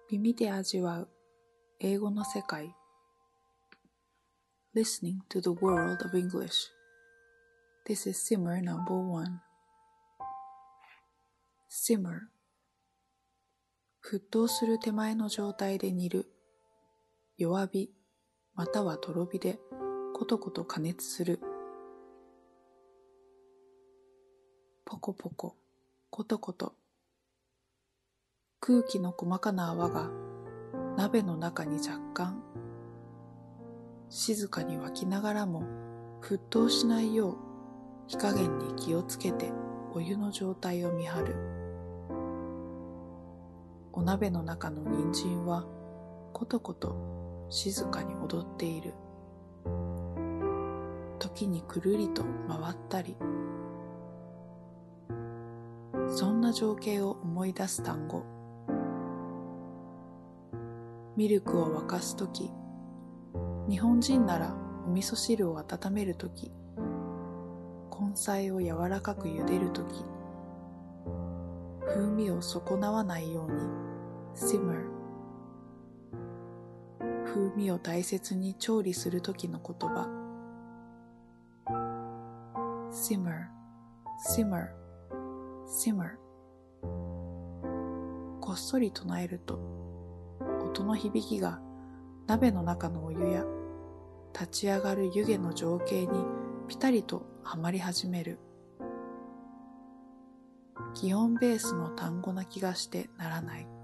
耳で味わう英語の世界 Listening to the world of English. This is Simmer No.1 Simmer 沸騰する手前の状態で煮る弱火またはとろ火でコトコト加熱するポコポココトコト空気の細かな泡が鍋の中に若干静かに沸きながらも沸騰しないよう火加減に気をつけてお湯の状態を見張るお鍋の中の人参はコトコト静かに踊っている時にくるりと回ったりそんな情景を思い出す単語ミルクを沸かすとき日本人ならお味噌汁を温めるとき根菜を柔らかく茹でるとき風味を損なわないように simmer 風味を大切に調理するときの言葉 simmer simmer simmer こっそり唱えると音の響きが鍋の中のお湯や立ち上がる湯気の情景にピタリとはまり始める擬音ベースの単語な気がしてならない